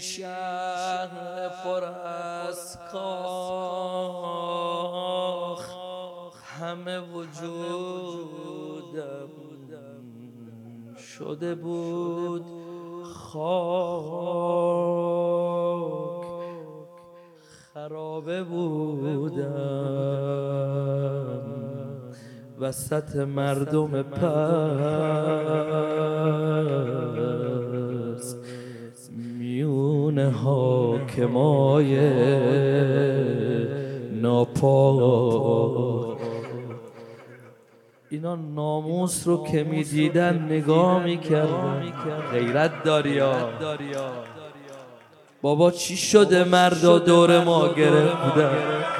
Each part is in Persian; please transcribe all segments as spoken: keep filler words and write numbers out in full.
شهر پر از کاخ، همه وجودم شده بود خاک، خرابه بودم وسط مردم پست، میون حاکمای ناپاک. اینا ناموس رو که میدیدن نگاه میکردن. غیرت داریا بابا، چی شده مردا دور ما گرفتن؟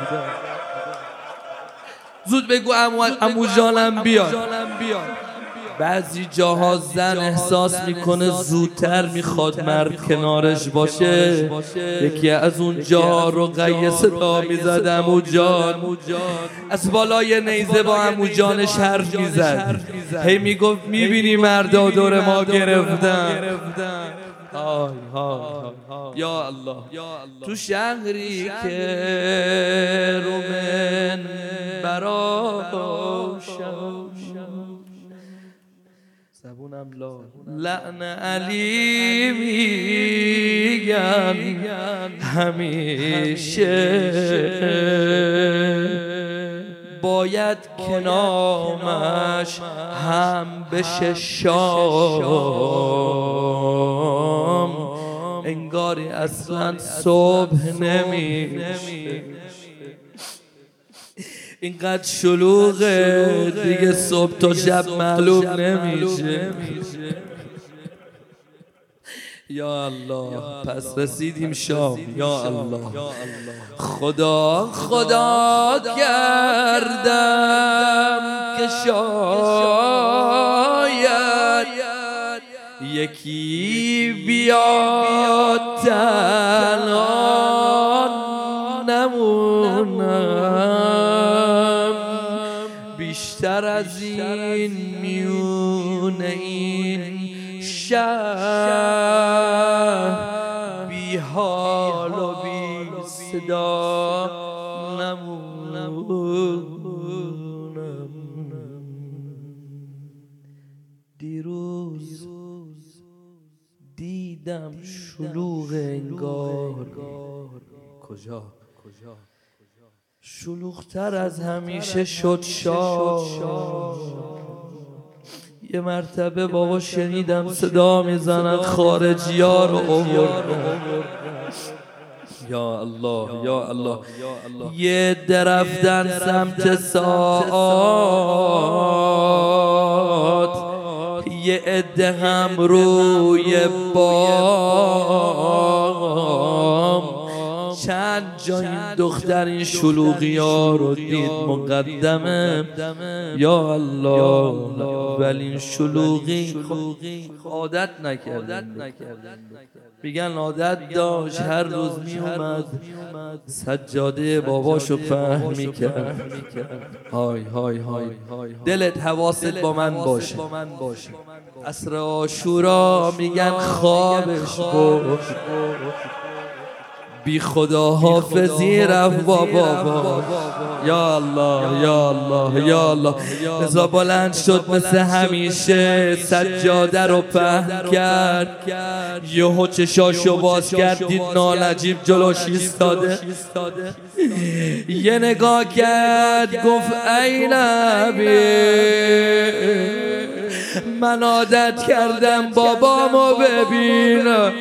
زود بگو عمو عمو جانم بیاد. بعضی جاها زن احساس میکنه زودتر میخواد مرد کنارش باشه، یکی از اون جاها رو قیه صدا میزد عمو جان، از بالای نیزه با عمو جانش حرف میزد، هی میگفت میبینی مردا دور ما گرفتن. آی های یا الله. تو شهری که رو من براشم زبونم لا لعن علی میگن همیشه، باید که نامش هم بشه شام، انگاری اصلا صبح نمیشه. اینقدر شلوغه دیگه صبح تا شب معلوم نمیشه. یا الله، پس رسیدیم شام. یا الله، خدا خدا کردم که شاید یکی بیاد تنها نمونم، بیشتر از این میون این شهر بی حال و بی صدا نمونم. دیروز دیدم شلوغ انگار، کجا؟ شلوغتر از همیشه شد شاد. یه مرتبه بابا شنیدم صدا میزنن خارجی ها رو آوردن. یا الله یا الله. یه درفتن سمت ساعات، یه عده هم روی بام. چند جا این دختر این شلوغی ها رو دید مقدمه. یا الله، ولی این شلوغی عادت نکردن. میگن عادت داشت هر روز میومد سجاده باباشو پهن میکرد. های های های دلت حواست با من باشه. عصر عاشورا میگن خوابش برد، بی خدا حافظی رفت با بابا. یا الله یا الله یا الله. رضا بلند شد مثل همیشه سجاده رو پهن کرد، یهو چشاشو باز کرد دید نالجیب جلوش ایستاده. یه نگاه کرد گفت ای نبی، من عادت کردم بابامو ببینم.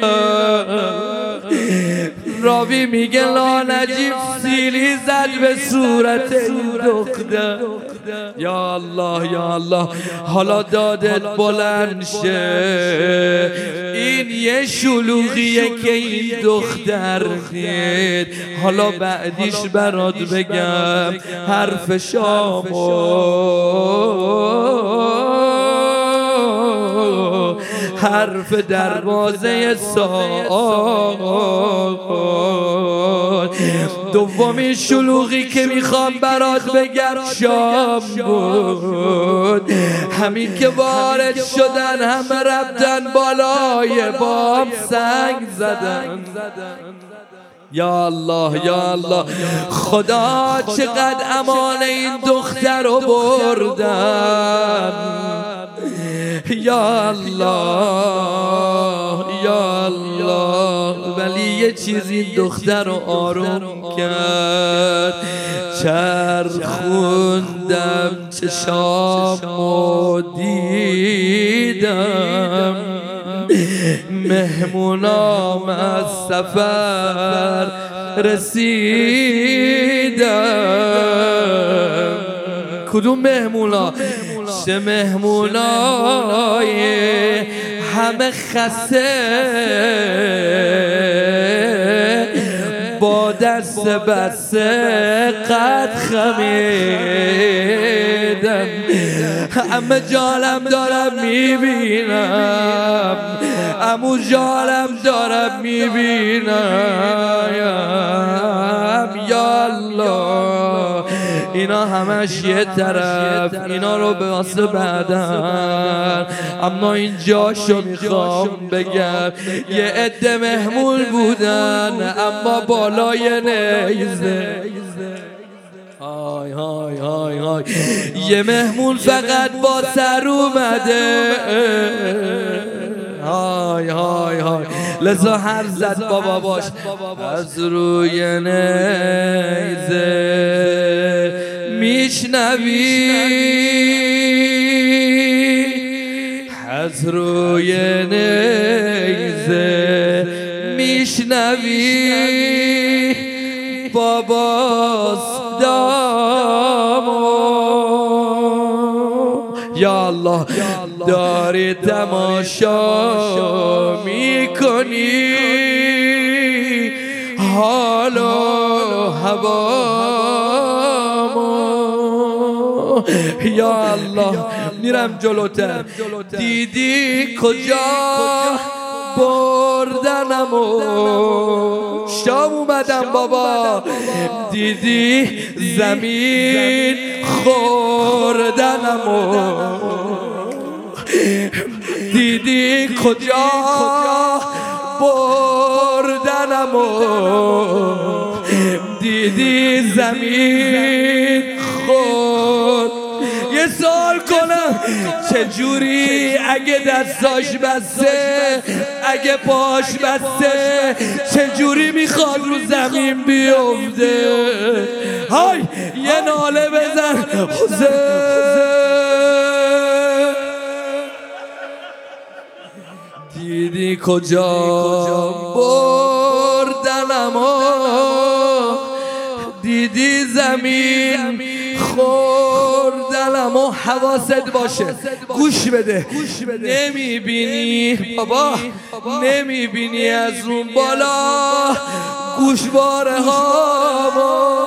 راوی میگه لانجیب سیلی زد به صورت این دختر. یا الله یا الله. حالا دادت بلند شه، این یه شلوغیه که این دختر دید. حالا بعدیش برات بگم حرف شامو، حرف دروازه ساعت. دومین شلوغی که میخوام برات بگم شام بود، همین که وارد شدن همه رفتن بالای بام سنگ زدن. یا الله یا الله، خدا چقدر امان این دختر رو بردن. یا الله یا الله، ولی یه چیز این دختر رو آروم کرد. چرخوندم چشامو دیدم، مهمونام از سفر رسیدم. کدوم مهمونا؟ چه مهمونای همه خسته، با دست بسته قد خمیدم. همه جالم دارم میبینم، امو جالم دارم میبینم. یا الله، اینا همش یه طرف، اینا رو به واسه بعدن. اما این جاشو میخوام بگم، یه عده مهمون بودن اما بالای نیزه. های های های های، یه مهمون فقط با سر اومده. های های های، لذا هر زد بابا باش از روی نیزه میشنوی، از روی نیزه میشنوی باباس دامو. یا الله، داری تماشا میکنی حال و هوامو. یا الله، میرم جلوتر. دیدی کجا بردنمو، شام اومدم بابا. دیدی زمین خوردنمو، دیدی کجا بردنمو، دیدی زمین خورد. یه سوال کنم، چجوری اگه دستاش بسته، اگه پاش بسته، چجوری میخواد رو زمین بیفته؟ های یه ناله بزن حسین. دیدی کجا بردنمو، دیدی زمین خوردنمو. حواست باشه، گوش بده. نمیبینی بابا، نمیبینی از اون بالا گوشواره هامو.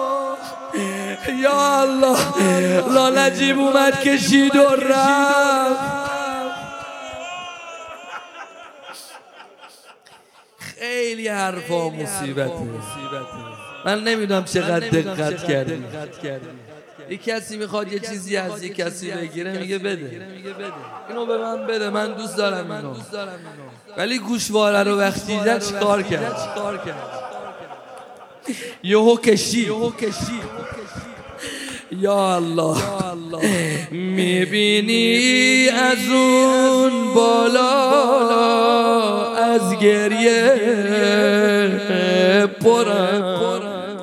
یا الله، لالجیب اومد کشید و رفت. خیلی حرفا مصیبته. من نمیدونم چقدر دقت کردی. یک کسی میخواد یه چیزی از یک کسی بگیره، میگه بده، اینو به من بده، من دوست دارم اینو. ولی گوشواره رو وقتی دیدن چیکار کرد؟ یهو کشید. یا الله، میبینی از اون بالا از گریه پرم.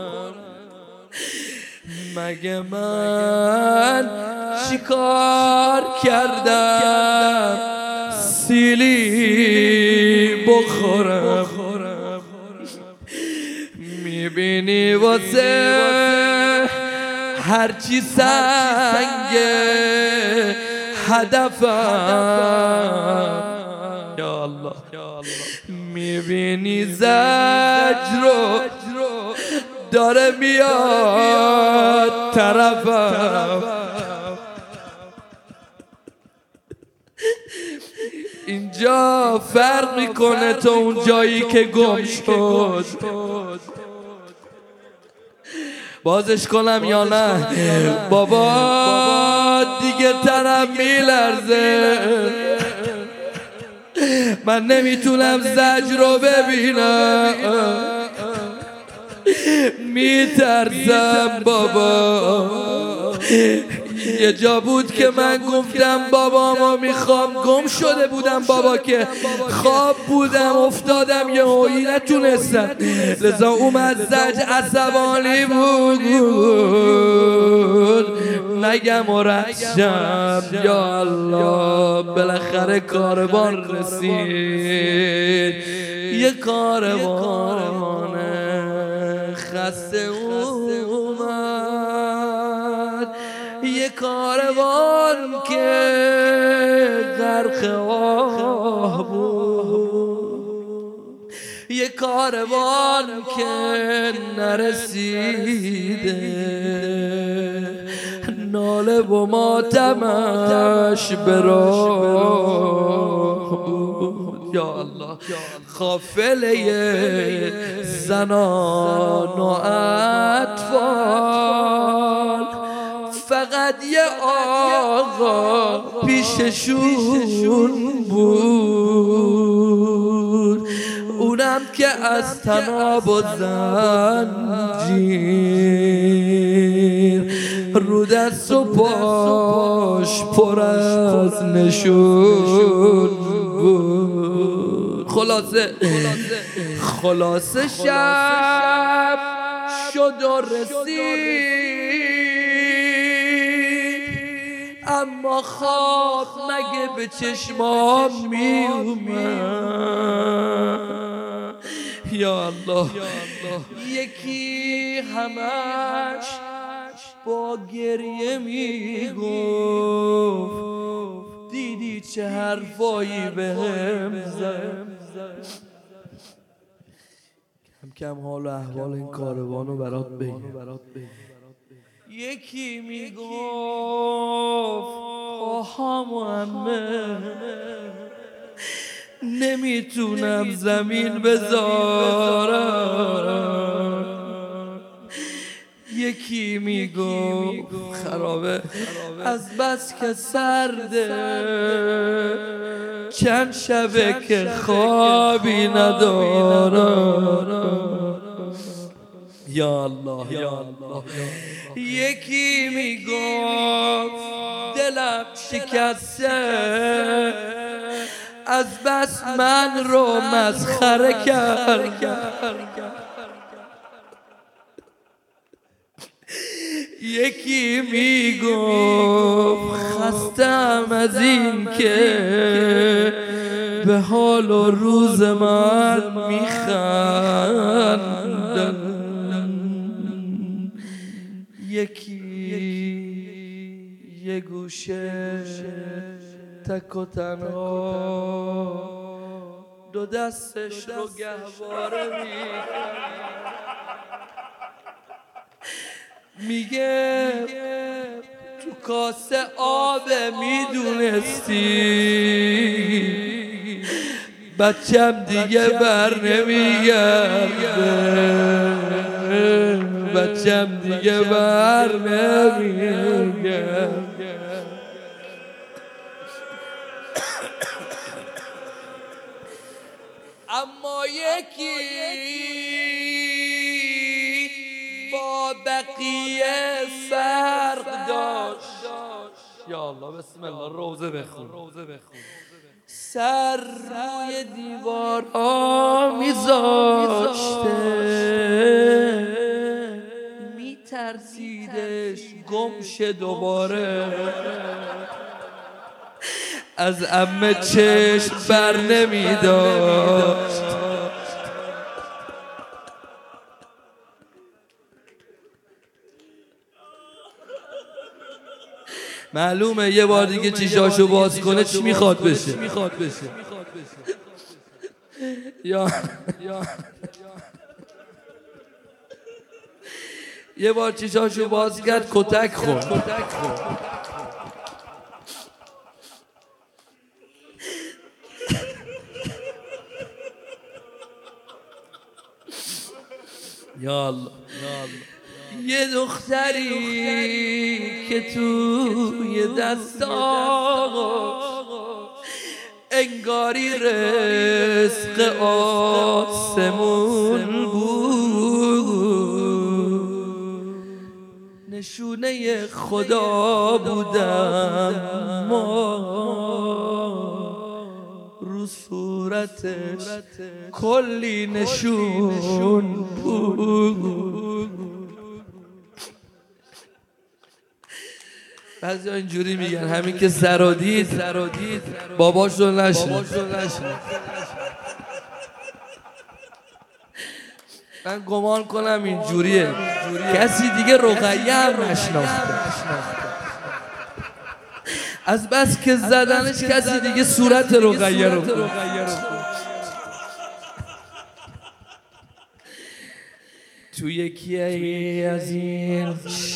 مگه من چیکار کردم سیلی بخورم؟ میبینی واسه هرچی سنگه هدفم. یا الله، میبینی زجر رو داره میاد طرفم. اینجا فرق میکنه تا اون جایی که گم شد. بازش کنم یا نه؟ بابا دیگه تنم میلرزه، من نمیتونم زجر رو ببینم، میترسم بابا. یه جا بود که من گفتم بابامو میخوام، گم شده بودم بابا که خواب بودم افتادم یه هایی نتونستم، لذا اومد زج عصبانی بود نگم و رشم. یا الله بالاخره کاروان رسید، یه کاروان خسته اومد، یه کاروان که غرق آه بود، یه کاروان که نرسیده، ناله و ماتمش به راه بود. یا الله قافله زنان و اطفال، فقط یه آقا پیششون بود، اونم که از طناب و زنجیر رو دست و پاش پر از نشون بود. خلاصه خلاصه شب شد و رسید، اما خواب مگه به چشمام می اومد. یا الله یکی همش با گریه می گفت دیدی چه حرفایی بهم زد. کم کم حال و احوال این کاروانو برات بگم. یکی می گفت آها محمد نمیتونم زمین بذارم، یکی میگفت خرابه از بس که سرده چند شبه که خوابی ندارم. یا الله یا الله. یکی میگفت دلم شکسته از بس من رو مسخره کرد، یکی میگفت خستم از این که به حال و روز من میخندن، یکی یه گوشه تک و تنها دو دستش رو گهواره میگه تو کاسه آب میدونستی بچم دیگه بر نمیگرده، بچم دیگه بر نمیگرده. اما یکی با بقیه فرق داشت. یا الله بسم الله روزه بخون. سر روی دیوارها میذاشته، میترسیدش گم شه دوباره، از عمه چشم بر نمیداشت. معلومه یه بار دیگه چیشاشو باز کنه چی میخواد بشه. یا یه بار چیشاشو باز کرد کتک خورد. یا الله یه دختری که توی دستاش انگاری رزق آسمون بود، نشونه خدا بودم ما رو صورتش کلی نشون بود. بعضی ها اینجوری میگن همین که سر دید باباش رو نشنید. من گمان کنم اینجوریه، کسی دیگه رقیه هم نشناخته، از بس که زدنش کسی دیگه صورت رقیه رو. تو یکی از این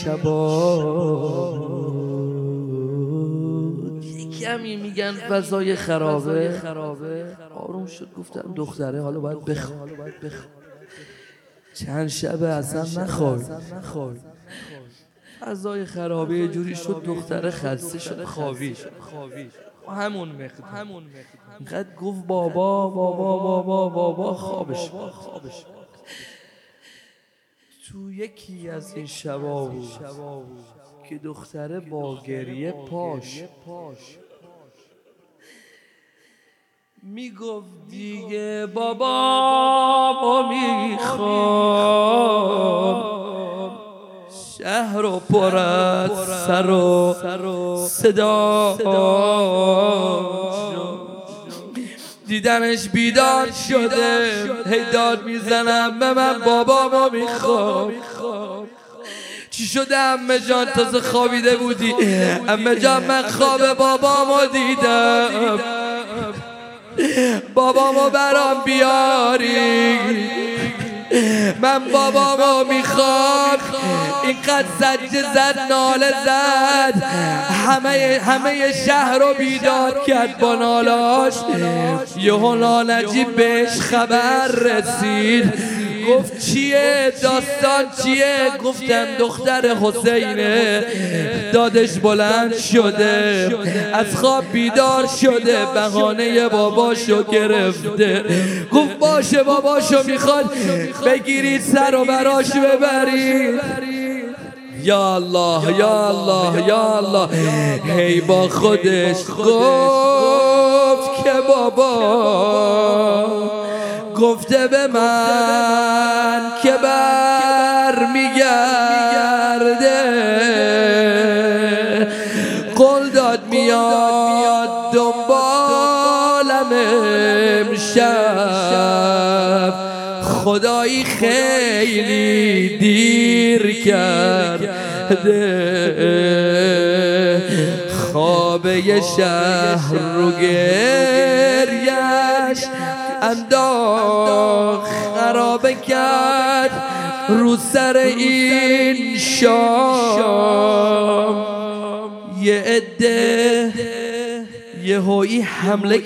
شبا کمی میگن فضای خرابه، آروم شد گفتم دختره حالا باید بخواب. چند شبه اصلا نخواب، فضای خرابه یه جوری شد دختره خسته شد خوابید. همون مقدار اینقدر گفت بابا بابا بابا بابا خوابش خوابش تو یکی از این شبا بود که دختره با گریه پاش میگفت دیگه بابا میخوام، شهر رو پر از سر و صدا، دیدنش بیدار شده هی داد میزنم به من بابامو میخوام. چی شده عمه جان تازه خوابیده بودی؟ عمه جان من خواب بابامو دیدم، بابامو برام بیاری، من بابامو میخوام. اینقدر زجه زد ناله زد همه همه شهر رو بیدار کرد با نالاش. یهو نالجیب بهش خبر رسید، گفت چیه داستان چیه؟ گفتن دختر حسینه دادش بلند شده، از خواب بیدار شده، بهانه باباشو گرفته. گفت باشه باباشو میخواد بگیرید سر و براش ببرید. یا الله یا الله یا الله، هی با خودش گفت که بابا گفته به من که بر میگرده، قول داد میاد دنبالم امشب، خدایی خیلی دیر کرده، خواب یه شهر رو گریش انداخت، خرابه کرد رو سر این شام. یه عده یهویی حمله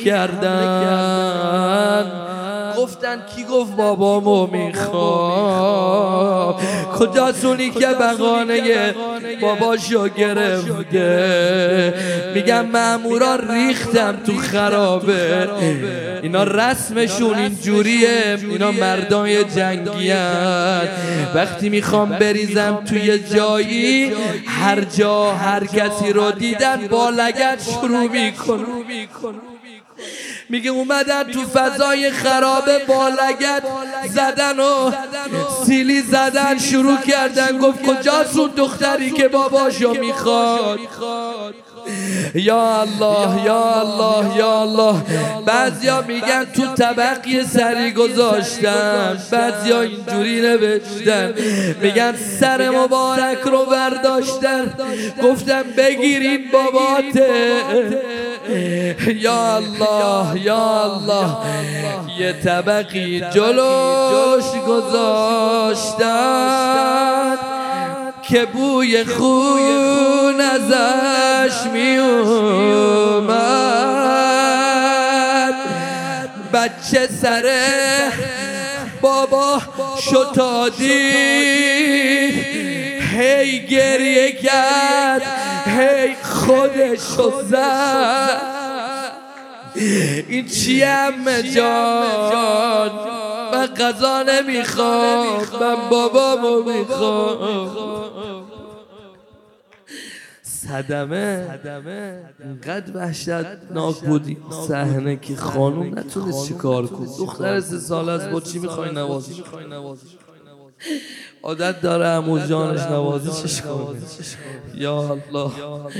کردن، گفتن کی گفت بابامو میخوام؟ کجاست اونی که بهانه باباشو گرفته؟ میگم ماموران ریختم تو خرابه، اینا رسمشون اینجوریه، اینا مردای جنگی هن. وقتی میخوام بریزم توی جایی، هر جا هر کسی رو دیدن با لگد شروع میکن. میگه اومدن تو فضای خرابه با لگد زدن و سیلی زدن شروع کردن. گفت کجاست اون دختری که باباشو میخواد؟ یا الله یا الله یا الله. بعضیا میگن تو طبق یه سری گذاشتن، بعضیا اینجوری نوشتن، میگن سر مبارک رو برداشتن، گفتن بگیرین باباته. یا الله یا الله. یه طبقی جلوش گذاشتن که بوی خون ازش می اومد، بچه سر بابا شتادی هی گریه کرد هی خودشو زد این چیه عمه جان من غذا نمیخوام من بابامو میخوام صدمه اینقدر وحشتناک بود این صحنه که خانوم نتونست چی کار کنه دختر سه ساله است با چی میخوای نوازش عادت داره عمو جانش نوازشش کنه یا الله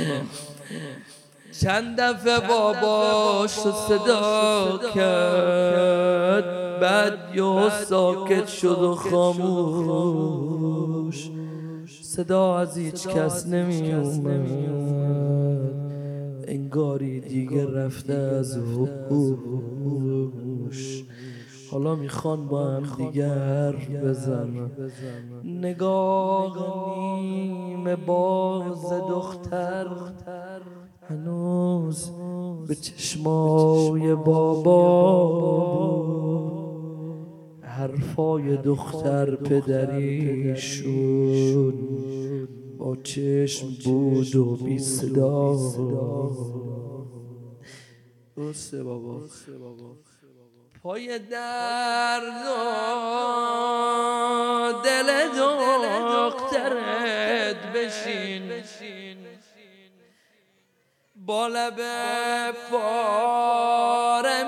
چند دفعه باباش رو صدا کرد بعد یه ساکت شد و خاموش صدا از هیچ کس نمی اومد انگاری دیگه رفته از هوش حالا میخوان با هم دیگر بزنن نگاه نیمه باز دختر هنوز به چشمای بابا حرفای دختر پدریشون با چشم بود و بی صدا درسته بابا پای درد و دل دخترت بشین با لب پاره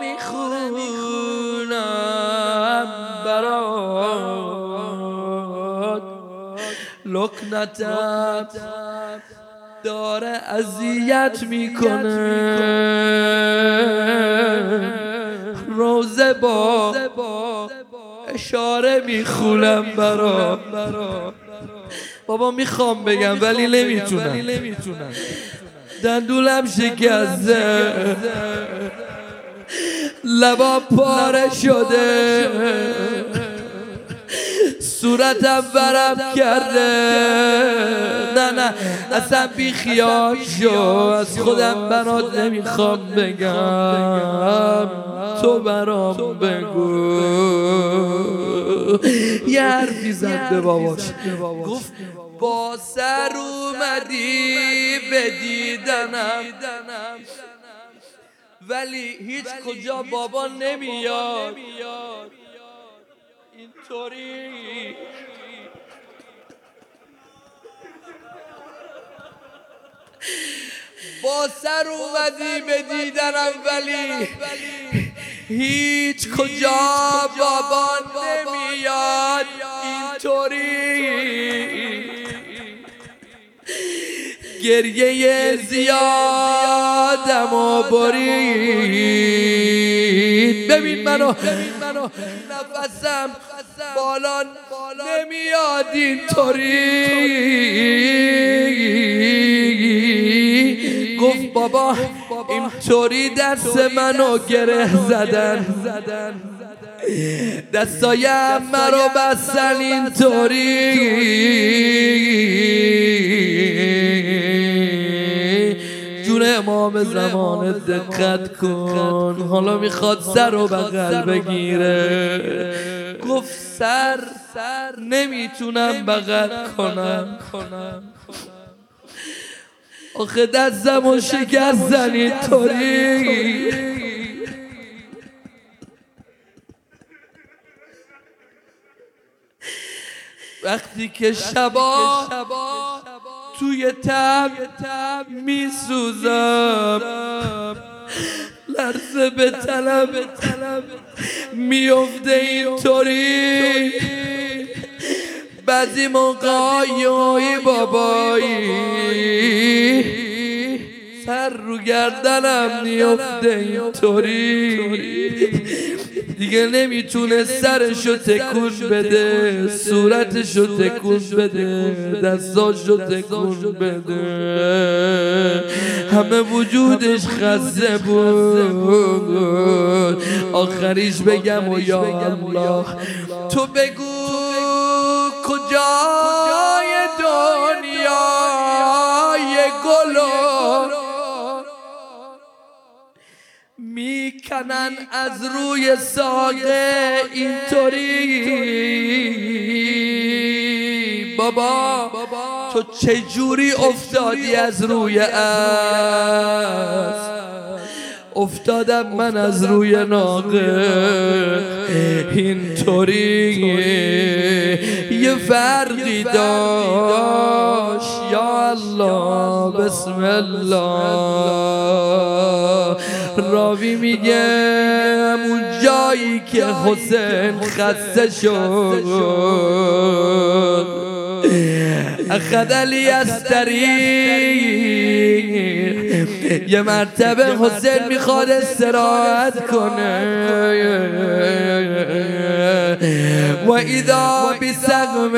میخونم برات لکنتم داره اذیت میکنه روزه با اشاره میخونم برات بابا میخوام بگم ولی نمیتونم دندونم شکسته لبا پاره شده صورتم ورم کرده نه نه اصلا بی خیال شو از خودم برات نمیخوام بگم تو برام بگو یه حرفی زد به باباش گفت با سر اومدی به دیدنم ولی هیچ کجا بابا نمیاد اینطوری با سر اومدی به دیدنم ولی هیچ کجا بابا نمیاد اینطوری گریه زیادم و برید ببین منو نفسم بالان نمیاد اینطوری گفت بابا اینطوری دست منو گره زدن دستایم مرا بستن اینطوری جون امام زمان دقت کن حالا میخواد سر و بغل بگیره گفت سر نمیتونم بغل کنم آخه دستم و شکستن اینطوری وقتی که شبا توی تب میسوزم لرزه به تنم میفته اینطوری بعضی موقعی بابایی سر رو گردنم میفته اینطوری دیگه نمیتونه سرشو تکون بده صورتشو تکون بده دستاشو تکون بده همه وجودش خسته بود آخریش بگم و یا الله تو بگو کجای دنیای گلو می میکنن از روی ساقه اینطوری. بابا تو چجوری افتادی از روی اسب؟ افتادم من از روی ناقه اینطوری. یه فرقی داشت یا الله بسم الله. راوی میگه اون جایی که حسین خسته شد اخذ علی از طریق. یه مرتبه حسین میخواد استراحت کنه و اذا بسقم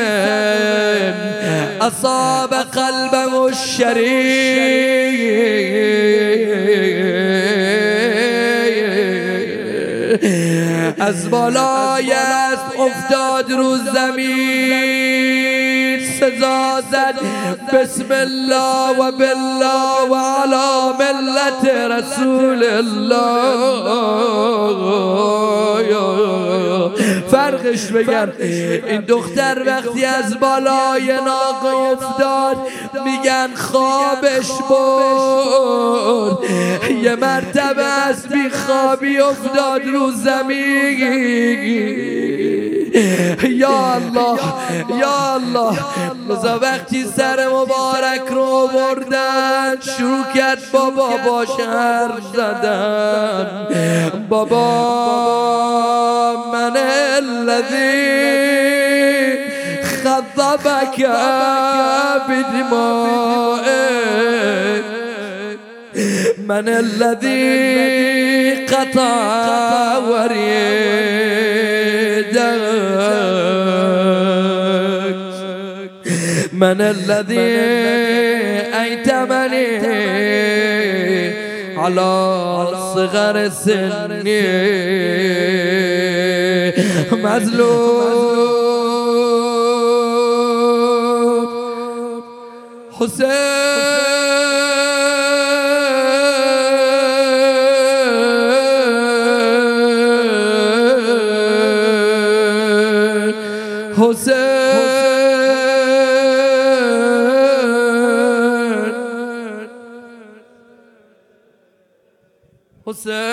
اصاب قلبه الشریف. از بالای اسب افتاد رو زمین، سزا زد بسم الله و بالله و علی ملت رسول الله. فرقش بگم این دختر وقتی از بالای ناقه افتاد میگن خوابش برد. یه مرتبه از بی خوابی افتاد رو زمین. یا الله یا الله. لذا وقتی سر مبارک رو بردن شروع کرد بابا باش حرف زدن. بابا من الذی خضبک بدمائه، من الذی قطع وریدک، من الذی ایتمنی على صغر سنی. مظلوم حسین حسین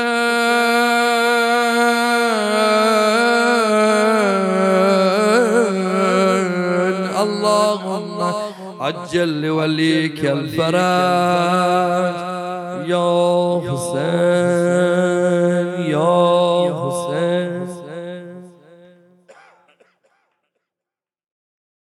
حسین اللهم عجل وليك الفرج يا حسين يا